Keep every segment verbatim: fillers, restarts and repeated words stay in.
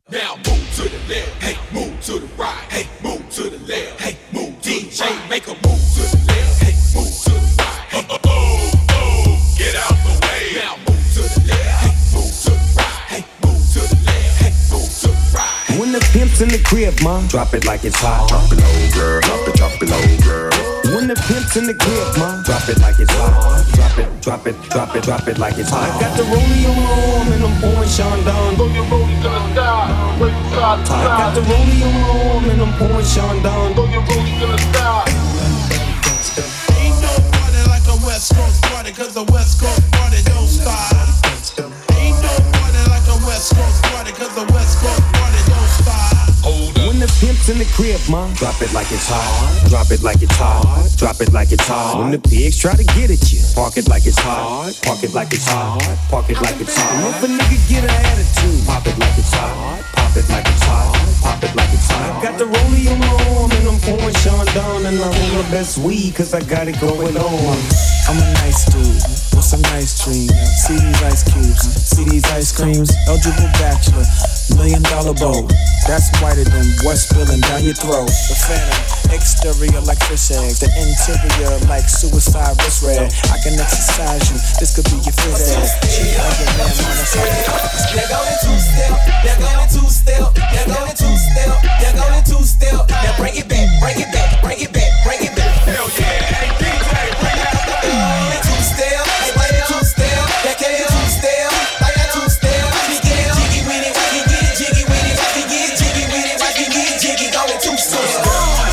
Now move to the left, hey, move to the right, hey, move to the left, hey, move D J, make a move to the left, hey, move to the right, hey, oh, oh, oh, get out the way. Now move to the left, hey, move to the right, hey, move to the left, hey, move to the right. When the pimp's in the crib, ma, drop it like it's hot. Drop it low, girl, drop it, drop it low, girl. When the pimp's in the crib, ma, drop it like it's hot. Drop it, drop it, drop it, drop it like it's hot. I got the rollie on my arm and I'm pouring Sean down. Throw your rollie to the sky, wave it side to side. I got the rollie on my arm and I'm pouring Sean down. Throw your rollie to the sky. Ain't no party like a West Coast party, cause the West Coast party don't stop. Ain't no party like a West Coast party, cause the West Coast party don't stop. Hold up. When the pimp's in the crib, ma, drop it like it's hot. Drop it like it's hot. Drop it like it's hot. When the pigs try to get at you, park it like it's hot. Park it like it's hot. Park it like it's hot. And if a nigga get an attitude, pop it like it's hot. Pop it like it's hot. Pop it like it's hot. I got the rollie on my arm and I'm pouring Sean down. And I roll the best weed cause I got it going on. I'm a nice dude with some nice dreams. See these ice cubes, see these ice creams. Eligible bachelor, million dollar bow. That's whiter than what's spilling down your throat. The phantom, exterior like fish eggs. The interior like suicide wrist red. I can exercise you, this could be your phys ed. She like a man, man, that's how they're going two-step, they're going two-step, they're going two-step, they're going two-step. Now bring it back, bring it back, bring it back, bring it back. Hell yeah, hey D J, bring out the two-step, they play the two-step, they play the two-step, like that two-step. We get jiggy with it, we can get jiggy with it, we get jiggy with it, we can get jiggy, going two-step.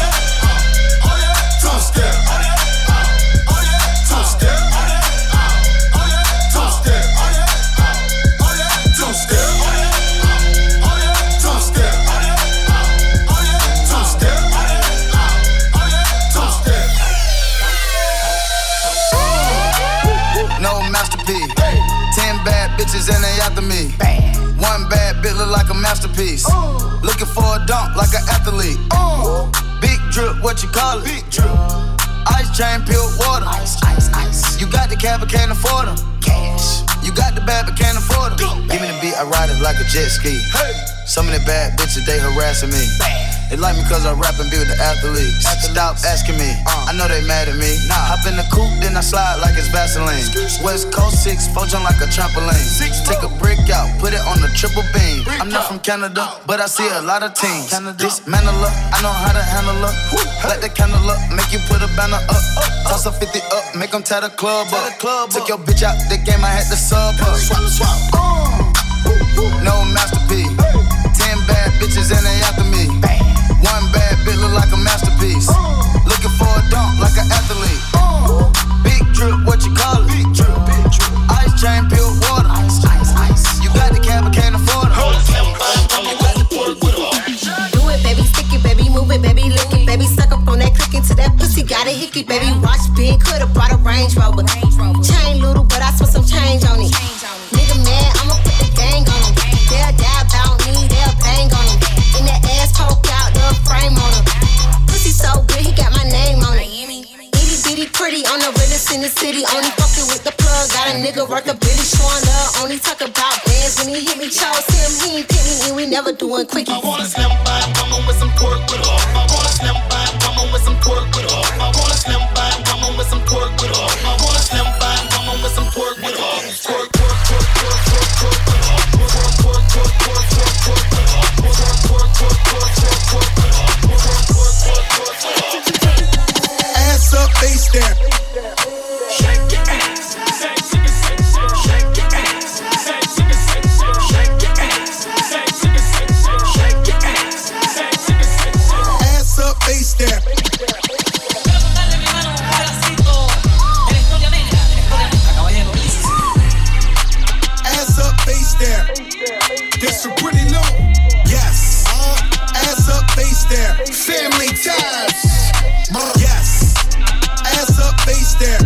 Bitches and they after me. Bam. One bad bitch look like a masterpiece. Ooh. Looking for a dunk like an athlete. Ooh. Big drip, what you call it? Big drip. Ice chain, pure water. Ice, ice, ice. You got the cab but can't afford them. Cash. You got the bad but can't afford them. Give me the beat, I ride it like a jet ski. Hey. Some of the bad bitches, they harassing me. Bam. They like me cause I rap and be with the athletes. Stop asking me, uh, I know they mad at me. Nah. Hop in the coupe, then I slide like it's Vaseline. West Coast six, four jump like a trampoline. Take a brick out, put it on the triple beam. I'm not from Canada, but I see a lot of teams. Dismantle her, I know how to handle her. Light the candle up, make you put a banner up. Toss a fifty up, make them tie the club up. Took your bitch out the game, I had to sub her. No masterpiece. Ten bad bitches and they after me. One bad bitch look like a masterpiece. Uh, Looking for a dunk like an athlete. Uh, Big drip, what you call it? Big drip, big drip. Ice chain, pure water. Ice, ice, ice. You got the cab, but can't afford it. Do it, baby, stick it, baby, move it, baby, lick it, baby, suck up on that click into that pussy, got a hickey, baby. Watch big, could've brought a Range Rover. Chain little, but I spent some change on it. Nigga mad, I'ma put the gang on him. They'll die about me, they'll bang on him. In that ass poke out the frame on him. Pussy so good, he got my name on it. Itty bitty pretty, on the realest in the city. Only fucking with the plug, got a nigga worth a billy. Showing love, only talk about bands. When he hit me, chose him, he ain't pick me, and we never doing quickies. I wanna slim by woman with some pork with her. I wanna slim by woman with some pork with her. I wanna slim by woman with some pork with her. I wanna slim by woman with some pork with her. Pork, pork, pork, pork, pork, pork with her. Pork, pork, pork, pork, pork, pork with her. Pork, pork, pork, pork, pork, pork with her. Pork, pork, pork, pork, pork with her. Ass up, face down. Shake your ass. Say, shake it, shake, shake your ass. Say, shake it, shake, shake your ass. Say, shake it, shake, shake your ass. Say, shake it, shake. Ass up, face down. Ass up, face down. This is pretty low. Yes. Ass up, face down. Family ties. Yes. Ass up, face down.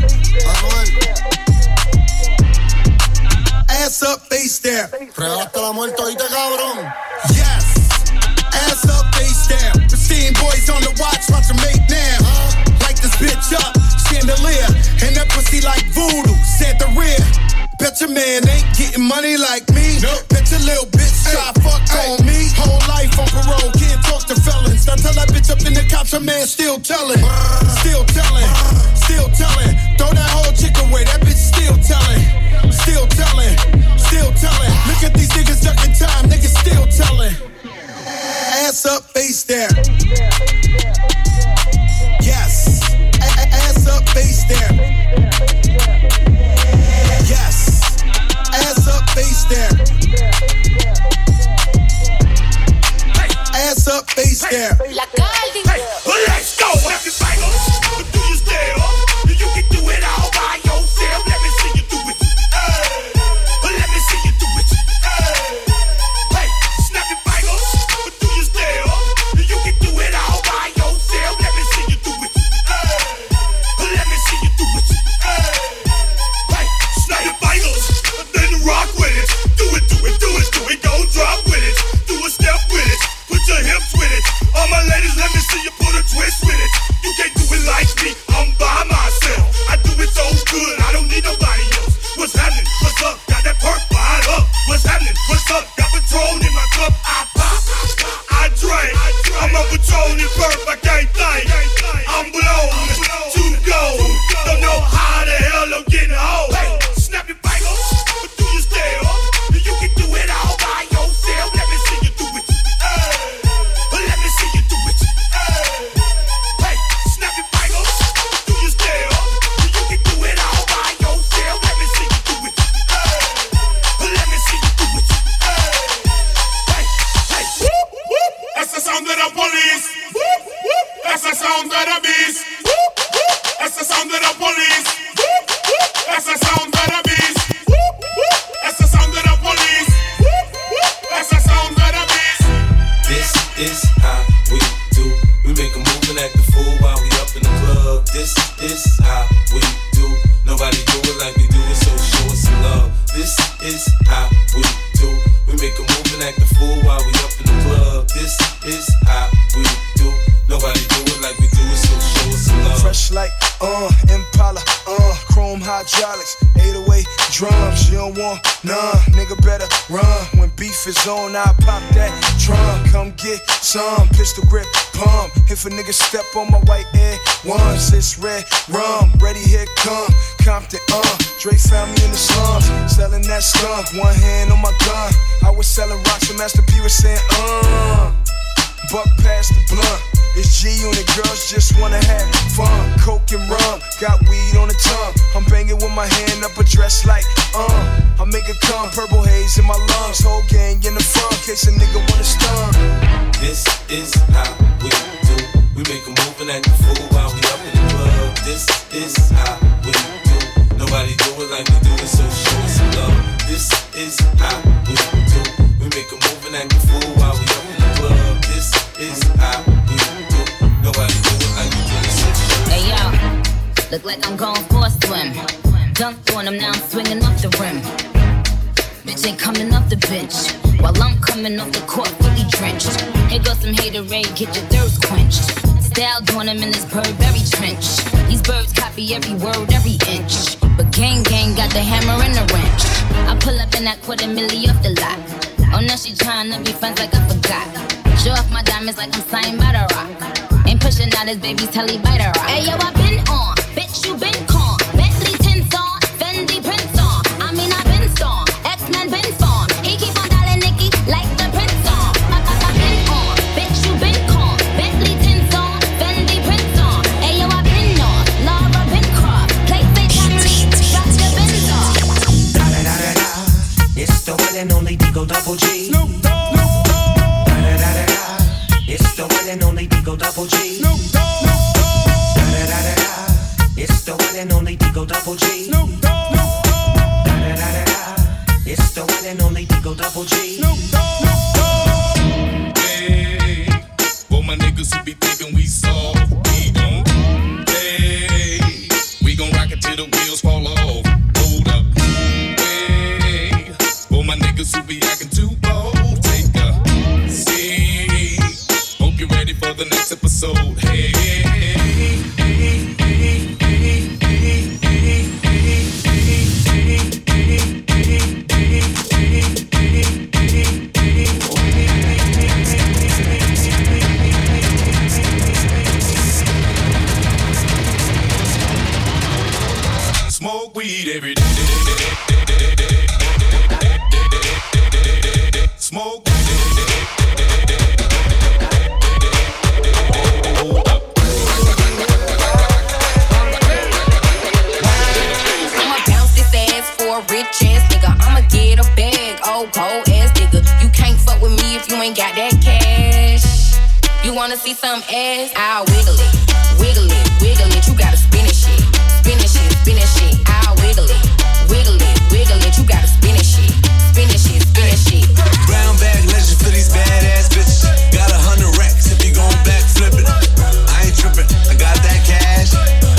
Ass up, face down. Fregaste la muerte ahorita, cabrón. Yes. Ass up, face down. Pristine boys on the watch, watch them make now. Light this bitch up, chandelier. And that pussy like voodoo, Santa rear. Bet your man ain't getting money like me. Nope. Bet your little bitch try fuck on me. there. La Caldi. Hey, well, let's go. Snap your fingers, but do you still? You can do it all by yourself. Let me see you do it. Hey, well, let me see you do it. Hey, hey, snap your fingers, but do you still? You can do it all by yourself. Let me see you do it. Hey, well, let me see you do it. Hey, hey, snap your fingers, then rock with it. Do it, do it, do it, do it. Go drop with it. Do a step with it. Put your hips with it. All my ladies, let me see you put a twist with it. You can't do it like me, I'm by myself. I do it so good, I don't need nobody else. What's happening? What's up? Got that perk fired up. What's happening? What's up? Got Patron in my cup. I pop, I drink. I'm a Patron and perk, I can't think. I'm blown to go. Don't know how the hell I'm getting home. Hey, snap your fingers, but do you still? You can do it all by yourself. Let me see you do it. Hey, let me see you do it. Hey, hey, snap your fingers, but do you still? You can do it all by yourself. Let me see you do it. Hey, let me see you do it. Hey, hey, hey. That's the sound of the police. That's the sound of the beast. That's the sound of the police. That's the sound of the beast. That's the sound of the police. That's the sound of the beast. This is how we do. We make a move and act the fool while we up in the club. This is how we do. Nobody do it like we do it, so show us some love. This is how we do. We make a move and act the fool while we up in the club. This is how we do. Nobody do it like we do it, so show us some love. Fresh like, uh, Impala, uh, chrome hydraulics, eight oh eight drums. You don't want none, nigga better run. When beef is on, I pop that drum. Come get some, pistol grip, pump. If a nigga step on my white air ones, it's red rum. Ready, here come Compton, uh. Dre found me in the slums, selling that skunk. One hand on my gun. I was selling rocks and Master P was saying, uh. Buck past the blunt. It's G Unit, girls just wanna have fun. Coke and rum, got weed on the tongue. I'm banging with my hand up a dress like, uh. I make it come, purple haze in my lungs. Whole gang in the front, case a nigga wanna stun. This is how we do. We make a move and act the fool while we up in the club. This is how we do. Nobody do it like we do it, so show us some love. This is how we do. We make a move and act the fool while we up in the club. This is how we do. Nobody do it like we do it, so show us. Hey yo, look like I'm going for a swim. Dunked on him, now I'm swinging off the rim. Bitch ain't coming off the bench, while I'm coming off the court fully drenched. Here goes some haterade, get your thirst quenched. Style doing him in this Burberry trench. These birds copy every word, every inch. But gang gang got the hammer and the wrench. I pull up in that quarter milli off the lot. Oh, now she tryna be friends like I forgot. Show off my diamonds like I'm signed by the rock. Ain't pushing out his baby's telly by the rock. Hey yo, I been on, bitch you been con. Bentley tints on, Fendi prints on. I mean I been storm, X-Men been formed. He keep on dialing Nicki like the prince on. I, I, I been on, bitch you been con. Bentley tints on, Fendi prints on. Hey yo, I been on, Laura been crossed. Play fatality, drop the Benz off. Da da da da da. It's the one and only Digo Double G. Snoop Dogg. Da da da da da. It's the one and only Digo Double G. Snoop Dogg. Da da da da da. It's the one and only Digo Double G. Snoop Dogg. Da da da da da. It's the one and only Digo Double G. Snoop Dogg. Hey, for my niggas who be thinking we soft, we don't. Hey, we gon' rock it till the wheels fall off. Hold up. Hey, for my niggas who be acting too bold, take a seat. Hope you're ready for the next episode. Hey, hey, hey, hey, hey, hey, hey, hey, smoke weed every day. Smoke. I'ma bounce this ass for a rich ass nigga. I'ma get a bag, old cold ass nigga. You can't fuck with me if you ain't got that cash. You wanna see some ass? I'll wiggle it, wiggle it, wiggle it. You gotta spin it shit, spin it shit, spin it shit. I'll wiggle it, wiggle it, wiggle it. You gotta spin it shit, spin it shit, spin it shit. Brown bag legend for these badass bitches. Got a hundred racks if you gon' backflip it. I ain't trippin', I got that cash.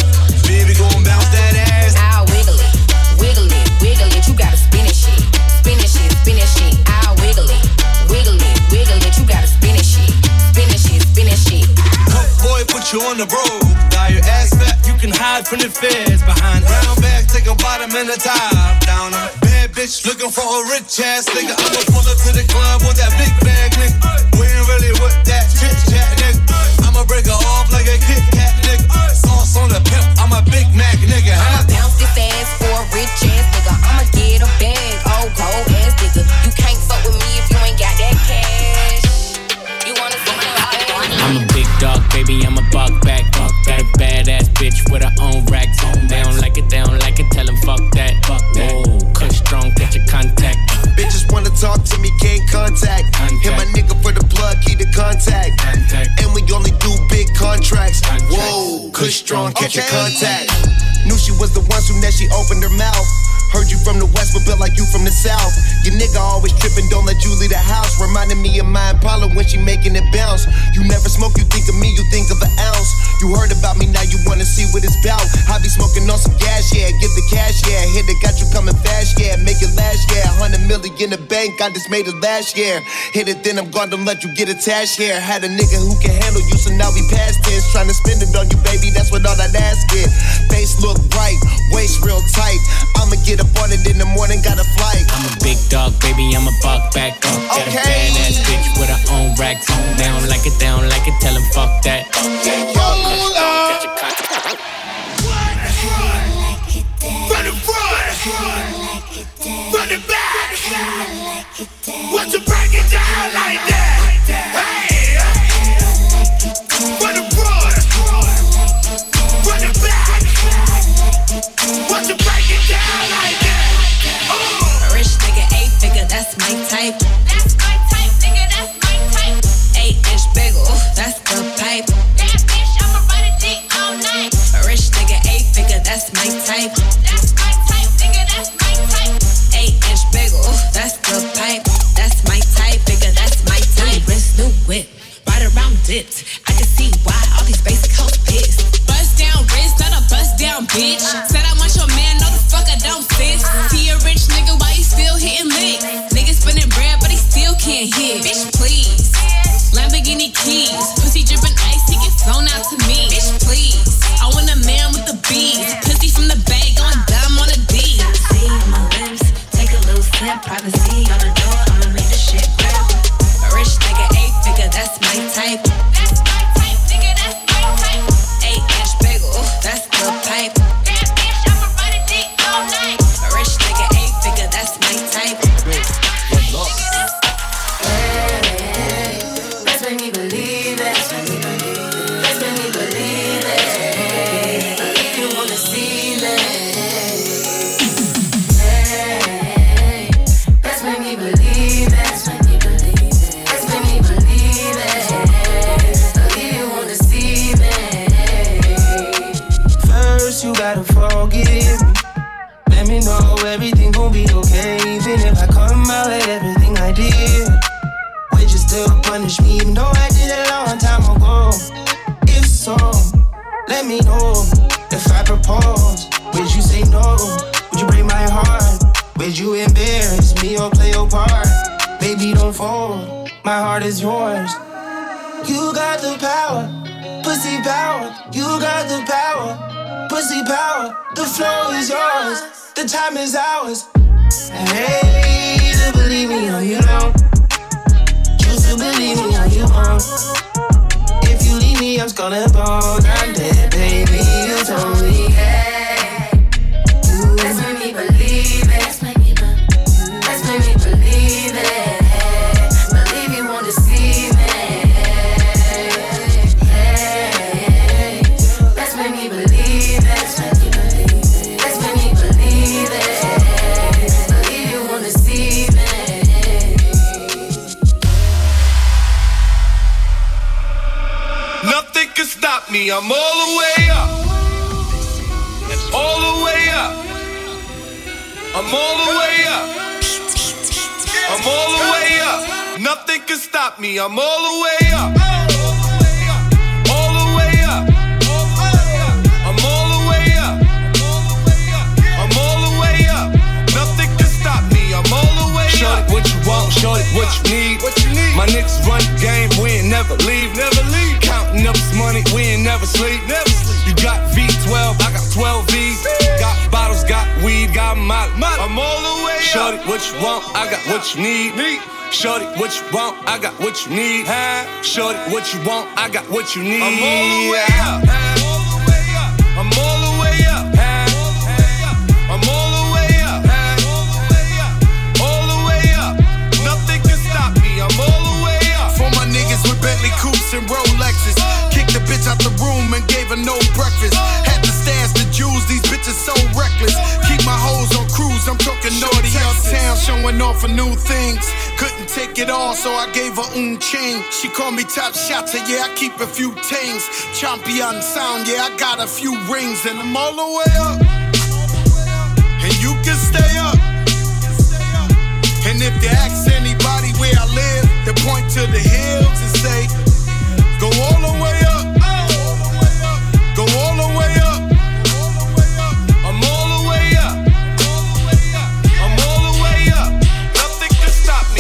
Baby gon' bounce that ass. I'll wiggle it, wiggle it, wiggle it. You gotta spin it shit, spin it shit, spin it shit. I'll wiggle it, wiggle it, wiggle it. You gotta spin it shit, spin it shit, spin it shit. Boy, put you on the road. Got your ass fat, you can hide from the feds. Behind brown bag, take a bottom and a top down. A bad bitch looking for a rich ass nigga. I'ma pull up to the club with that big bag, nigga. We ain't really with that chit chat, nigga. I'ma break her off like a Kit Kat, nigga. Sauce on the pimp, I'm a Big Mac, nigga. I'ma bounce this ass for a rich ass nigga. I'ma get a bag, oh cold ass nigga. You can't fuck with me if you ain't got that cash. You wanna see some ass? I'm a big dog, baby, I'm a buck back. Got a badass bitch with her own racks. They don't like it, they don't like it, tell them fuck that. Fuck that. Whoa, Kush strong, get your contact. Bitches wanna talk to me, can't contact. contact. Hit my nigga for the plug, keep the contact. contact. And we only do big contracts. Contact. Whoa, Kush strong, catch okay. your contact. Knew she was the one soon as she opened her mouth. Heard you from the west, but built like you from the south. Your nigga always trippin', don't let you leave the house. Reminding me of my Impala when she making it bounce. You never smoke, you think of me, you think of an ounce. You heard about me, now you wanna see what it's bout. I be smoking on some gas, yeah, get the cash, yeah. Hit it, got you coming fast, yeah, make it last, yeah. Hundred million in the bank, I just made it last year. Hit it, then I'm gone, don't let you get attached here. Had a nigga who can handle you, so now we past tense. Tryna spend it on you, baby, that's what all that ass get. Face look right, waist real tight. I'ma get up on it in the morning, got a flight. I'm a big dog, baby, I'm a buck back. Got okay. a badass bitch with her own racks. They don't like it, they don't like it, tell them fuck that. Hold up. Run the front, run the back. What's you break it down like that? Hey, run the front, run the back. What's you break it down like that? A rich nigga, eight figure, that's my type. That's my type, nigga, that's my type. Eight inch bagel, that's the pipe. That bitch, I'ma ride a dick all night. A rich nigga, eight figure, that's my type. That's my type, nigga, that's my type. Eight inch bagel, that's the pipe. That's my type, nigga, that's my type. New wrist, new whip, right around dipped. I can see why all these basic hoes pissed. Bust down wrist, not a bust down bitch. Said I want your man, no the fuck I don't sis. See a rich nigga, why he still hitting licks? Nigga spinning bread, but he still can't hit. Bitch, please. Lamborghini keys, pussy dripping ice, he get flown out to me. Bitch, please. I want a man with the bees. Pussy from the bag, going dumb on a D. See my lips, take a little sip. Privacy on the door, I'ma make the shit grip. A rich nigga, eight figure, that's my type. That's my type, nigga, that's my type. Eight inch bagel, that's the pipe. That bitch, I'ma ride a dick all night. A rich nigga, eight figure, that's my type. Let's make me believe it. Let's make me believe it. Let's make me believe it. If you wanna see me. Hey, let's make me believe it. Let's make me believe it. Let's make me believe it. If you wanna see me. First you gotta forgive me. Let me know everything gon' be okay. Even if I come out with everything I did, would you still punish me even though I did it a long time ago? If so, let me know. If I propose, would you say no? Would you break my heart? Would you embarrass me or play your part? Baby, don't fold, my heart is yours. You got the power, pussy power. You got the power, pussy power. The flow is yours, the time is ours. Hey, to believe me or you don't. Choose to believe me or you won't. If you leave me, I'm gonna bone. I'm dead, baby, you told me. Hey, you. Let's make me believe it. Let's make me believe. Let's make me believe it. Believe you wanna see me. Hey, let's make me believe it. Let's make me believe. Let's make me believe it. Believe you wanna see me. can stop me. I'm all the way up. All the way up. I'm all the way up. I'm all the way up. Nothing can stop me. I'm all the way up. All the way up. I'm all the way up. I'm all the way up. Nothing can stop me. I'm all the way up. Shorty, what you want? Shorty, what you need? What you need? My niggas run the game. We ain't never leave. Never leave. Counting up this money. We ain't never sleep. Never sleep. You got V twelve. I got twelve V's. Got bottles. Got weed. Got molly. I'm all the way up. Shorty, what you want? I got what you need. need. Shorty, what you want? I got what you need. Shorty, what you want? I got what you need. I'm all the way up. I'm all the way up. I'm all the way up. All the way up. Nothing can stop me. I'm all the way up. For my niggas with Bentley coupes and Rolexes, kicked the bitch out the room and gave her no breakfast. Had to stash the jewels. These bitches so reckless. Keep my hoes on cruise. I'm talking naughty uptown, showing off for new things. Couldn't take it all, so I gave her un chain. She called me top shotter, yeah, I keep a few tings. Champion sound, yeah, I got a few rings. And I'm all the way up, and you can stay up. And if you ask anybody where I live, they point to the hills and say, go all the way up. Go all the way up. I'm all the way up. I'm all the way up. Nothing can stop me.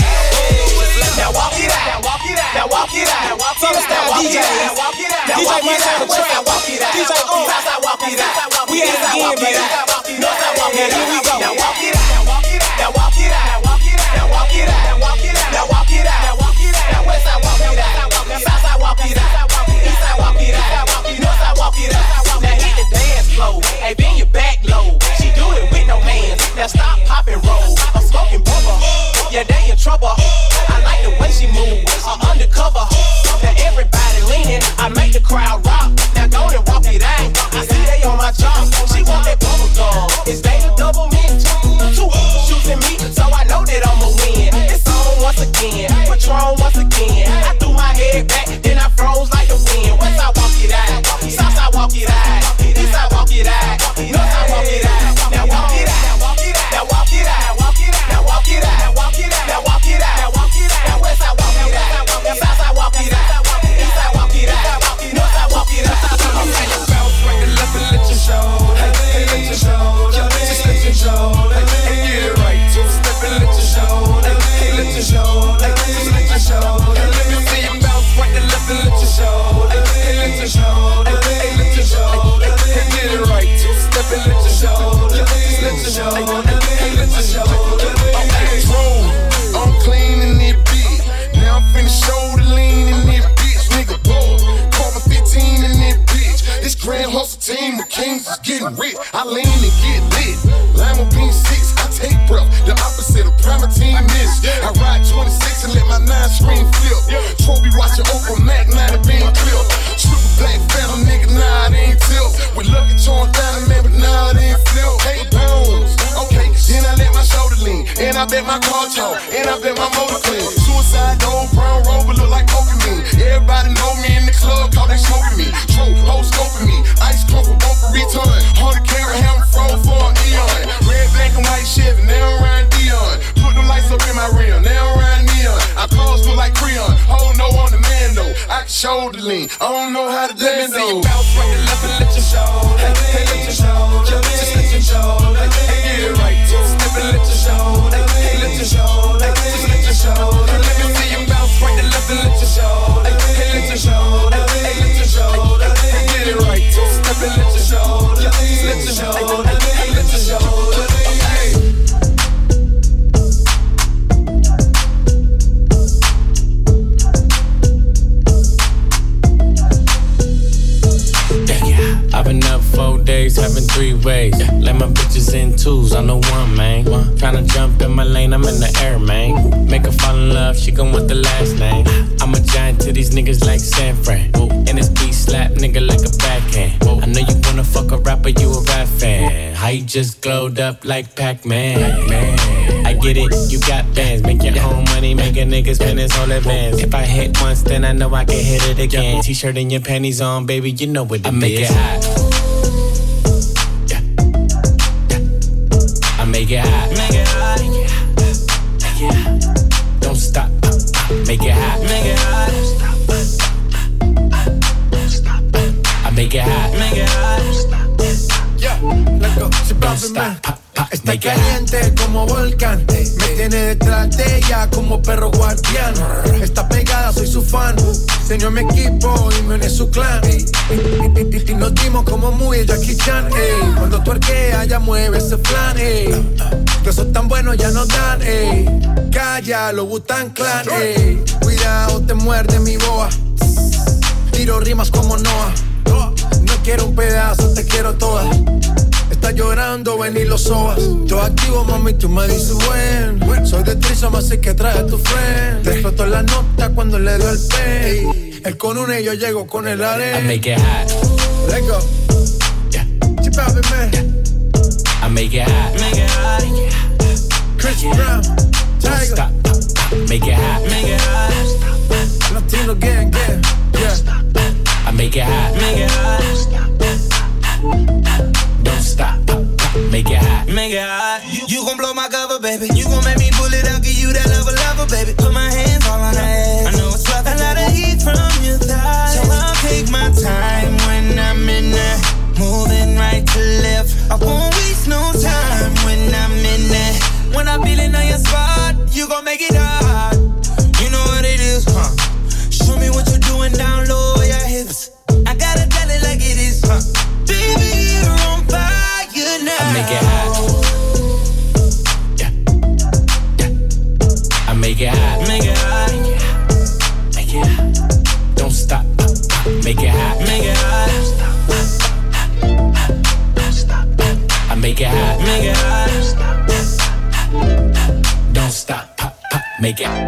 Now walk it out. Now walk it out. Now walk it out. Summer style D J. Now walk it out. D J Mike on the track. Walk it out. D J O. Walk it out. We at it again, baby. North side walk it out. Here we go. Now walk it out. Now walk it out. Now walk it out. Now walk it out. Now walk it out. Now walk it out. Now walk it out. Now west side walk it out. South side walk it out. East side walk it out. North side walk it out. Now hit the dance floor. Hey, bend your back low. She do it with no hands. Now stop, pop and roll. I'm smoking bubble. Yeah, they in trouble. I like the way she move. I'm undercover. Now everybody leaning. I make the crowd rock. Now go and walk it out. I see they on my job. She want that bubble gum. It's they the double mint. Two shooting me, so I know that I'ma win. It's on once again. Patron once again. I threw my head back, then I froze like the wind. West side walk it out. South side walk it out. East side walk it out. North side walk it out. Now walk it out. Now walk it out. Now walk it out. Now walk it out. Now walk it out. Now walk it out. Now walk it out. Now west side walk it out. Now south side walk it out. East side walk it out. North side walk it out. I'm ready to bounce right to left and let your shoulder. Hey, let your shoulder. Just let your shoulder. Hey, get it right. Two step and let your shoulder. Hey, let your shoulder. Just let your shoulder. Let me see you bounce right to left and let your shoulder. Hey, let your shoulder. Hey, let your shoulder. Hey, get it right. Two step and let your shoulder. Just let your shoulder. Hey, let your shoulder. Okay, roll. I'm clean in this bitch. Now I'm finna shoulder lean in this bitch. Nigga, boy. Call me fifteen in this bitch. This grand hustle team of kings is getting rich. I lean and get lit. Lima bean six, I take breath. The opposite of Primatine miss. I ride twenty-six and let my nine screen flip. Trophy watching Oprah Mac, nine being clip. Triple black phantom, nigga, nah, it ain't tilt. With lucky torn down, man, but nah, it ain't flip. Hey, bones. Okay, then I let my shoulder lean. And I bet my car talk. And I bet my motor clean. Suicide door, brown rover, look like Pokemon. Everybody know me in the club, cause they smoking me. True, hoes scoping me. Ice club for both for return. Hundred carat hammer froze for an eon. Red, black, and white Chevy, now around Dion. Put them lights up in my rim, now around neon. I clothes look like Creon. Oh no, on the man though. I can shoulder lean. I don't know how to dance though. Let me see you bounce right to left and let your shoulder. Hey, let your shoulder. Just let your shoulder. Hey, get it right. Two step and let your shoulder. Hey, let your shoulder. Just let your shoulder. Let me see you bounce right to left and let your shoulder. Hey, let your shoulder. Hey, let your shoulder. Hey, get it right. Two step and let your shoulder. Just let your shoulder. Hey, let your shoulder. Hey. I've been up four days, having three ways. Let my bitches in twos, I'm the one, man. Tryna jump in my lane, I'm in the air, man. Make her fall in love, she gon' want the last name. I'm a giant to these niggas like San Fran. And this beat slap nigga like a backhand. I know you wanna fuck a rapper, you a rap fan. How you just glowed up like Pac-Man? Pac-Man. I get it, you got bands. Make your own money, make a nigga spend his whole advance. If I hit once, then I know I can hit it again. T-shirt and your panties on, baby, you know what it I is. I make it hot. Yeah. Yeah. I make it hot. Make it hot. Make it hot. Don't stop. Make it hot. Make it hot. Don't stop. I make it hot. Make it hot. Yeah, let's go. Don't stop. Está caliente como volcán. Me tiene detrás de ella como perro guardián. Está pegada, soy su fan. Señor mi equipo y me une su clan. Y, y, y, y nos dimos como muy Jackie Chan. Ey. Cuando tú arqueas ya mueve ese flan. Ey. Que sos tan buenos ya no dan. Ey. Calla, lo Wu-Tang Clan. Ey. Cuidado, te muerde mi boa. Tiro rimas como Noah. No quiero un pedazo, te quiero toda. Está llorando, ven y lo sobas. Yo activo, mami, tú me dices buen. Soy de Trisom, así que trae a tu friend. Te explotó la nota cuando le doy el pay. Él con una y yo llego con el arena. I make it hot. Let's go. Yeah. Chip out, man. Yeah. I make it hot. Make it hot. Chris yeah. Brown. Don't stop. Make it hot. Make it hot. Latino gang, gang. Yeah. I make it hot. Make it hot. Don't stop, make it hot. Make it hot. You, you gon' blow my cover, baby. You gon' make me pull it out, give you that lover, lover, baby. Put my hands all on her ass. I know it's rough, a lot of heat from your thighs. So I'll take my time when I'm in there. Moving right to left. I won't waste no time when I'm in there. When I'm feeling on your spot, you gon' make it hot. You know what it is, huh? Show me what you're doing down low, your hips. I gotta tell it like it is, huh? Baby, you're on fire now. I make it hot. Yeah, yeah. I make it hot. Make it hot. Make it hot. Don't stop. Make it hot. Make it hot. Don't stop. I make it hot. Make it hot. Don't stop. Pop, pop. Make it.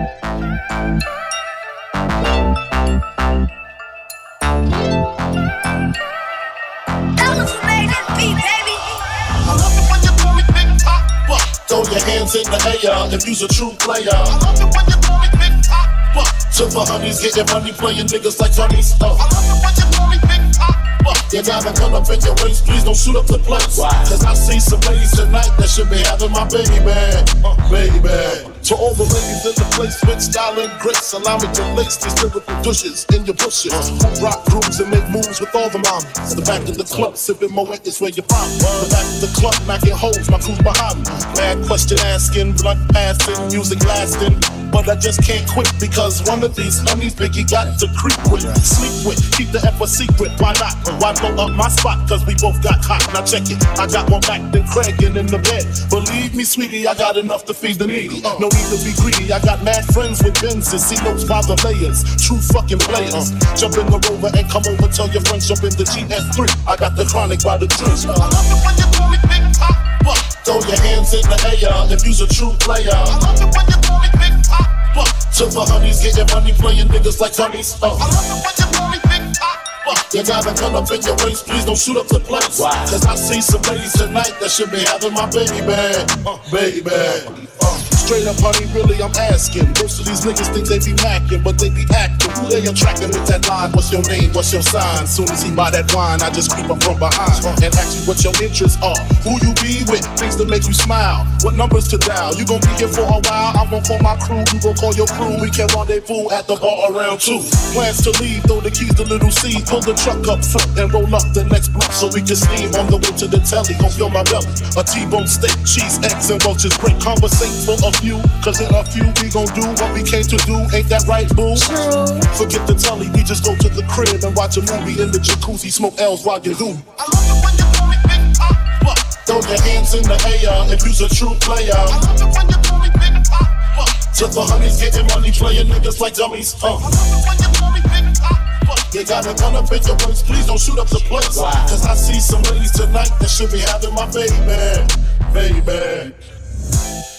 Throw your hands in the air if you's a true player. I love it when you call me Big Pop. To the honeys, getting money, playing niggas like Tony's. Oh. I love it when you call me Big Pop. You gotta come up in your waist, please don't shoot up the place. Why? Cause I see some ladies tonight that should be having my baby, uh, baby. To all the ladies in the place with style and grace, allow me to lace these lyrical douches in your bushes. Uh, rock grooves and make moves with all the mommies. The back of the club, sipping Moet is where you find me. The back of the club, knocking holes, my crew's behind me. Bad question asking, blunt passing, music lasting. But I just can't quit because one of these honeys Biggie got to creep with, sleep with, keep the F a secret. Why not? Why blow up my spot? Cause we both got hot. Now check it. I got more back than Craig in the bed. Believe me, sweetie, I got enough to feed the needy. No need to be greedy. I got mad friends with Benzes. See those by the layers. True fucking players. Jump in the Rover and come over. Tell your friends jump in the G S three. I got the chronic by the trees. I love it when you call me Big Pop. Throw your hands in the air if you's a true player. I love it when you call me Big Pop. To the honeys, getting money, playing niggas like Tony's. Oh. I love it when you call me Big Pop. You gotta come up in your waist, please don't shoot up the place. Why? Cause I see some ladies tonight that should be having my baby bag, uh, baby bag. Uh, straight up, honey, really, I'm asking. Most of these niggas think they be macking, but they be acting. Who they attracting with that line? What's your name? What's your sign? Soon as he buy that wine, I just creep up from behind and ask you what your interests are. Who you be with? Things that make you smile. What numbers to dial? You gon' be here for a while. I'm gon' call my crew. You gon' call your crew. We can rendezvous at the bar around two. Plans to leave. Throw the keys to Little C. Pull the truck up front and roll up the next block so we can steam on the way to the telly. Gon' fill my belly. A T-bone steak, cheese, eggs, and roaches. Great conversate for a few. Cause in a few we gon' do what we came to do. Ain't that right, boo? Forget the telly. We just go to the crib and watch a movie in the jacuzzi. Smoke L's while you do. I love it when you call me Big Pop. Throw your hands in the air if you's a true player. I love it when you call me Big Pop. To the honeys, getting money, playing niggas like dummies. Uh. I love it when you call me Big Pop. You gotta come up in your waist, please don't shoot up the place. Why? Cause I see some ladies tonight that should be having my baby, baby.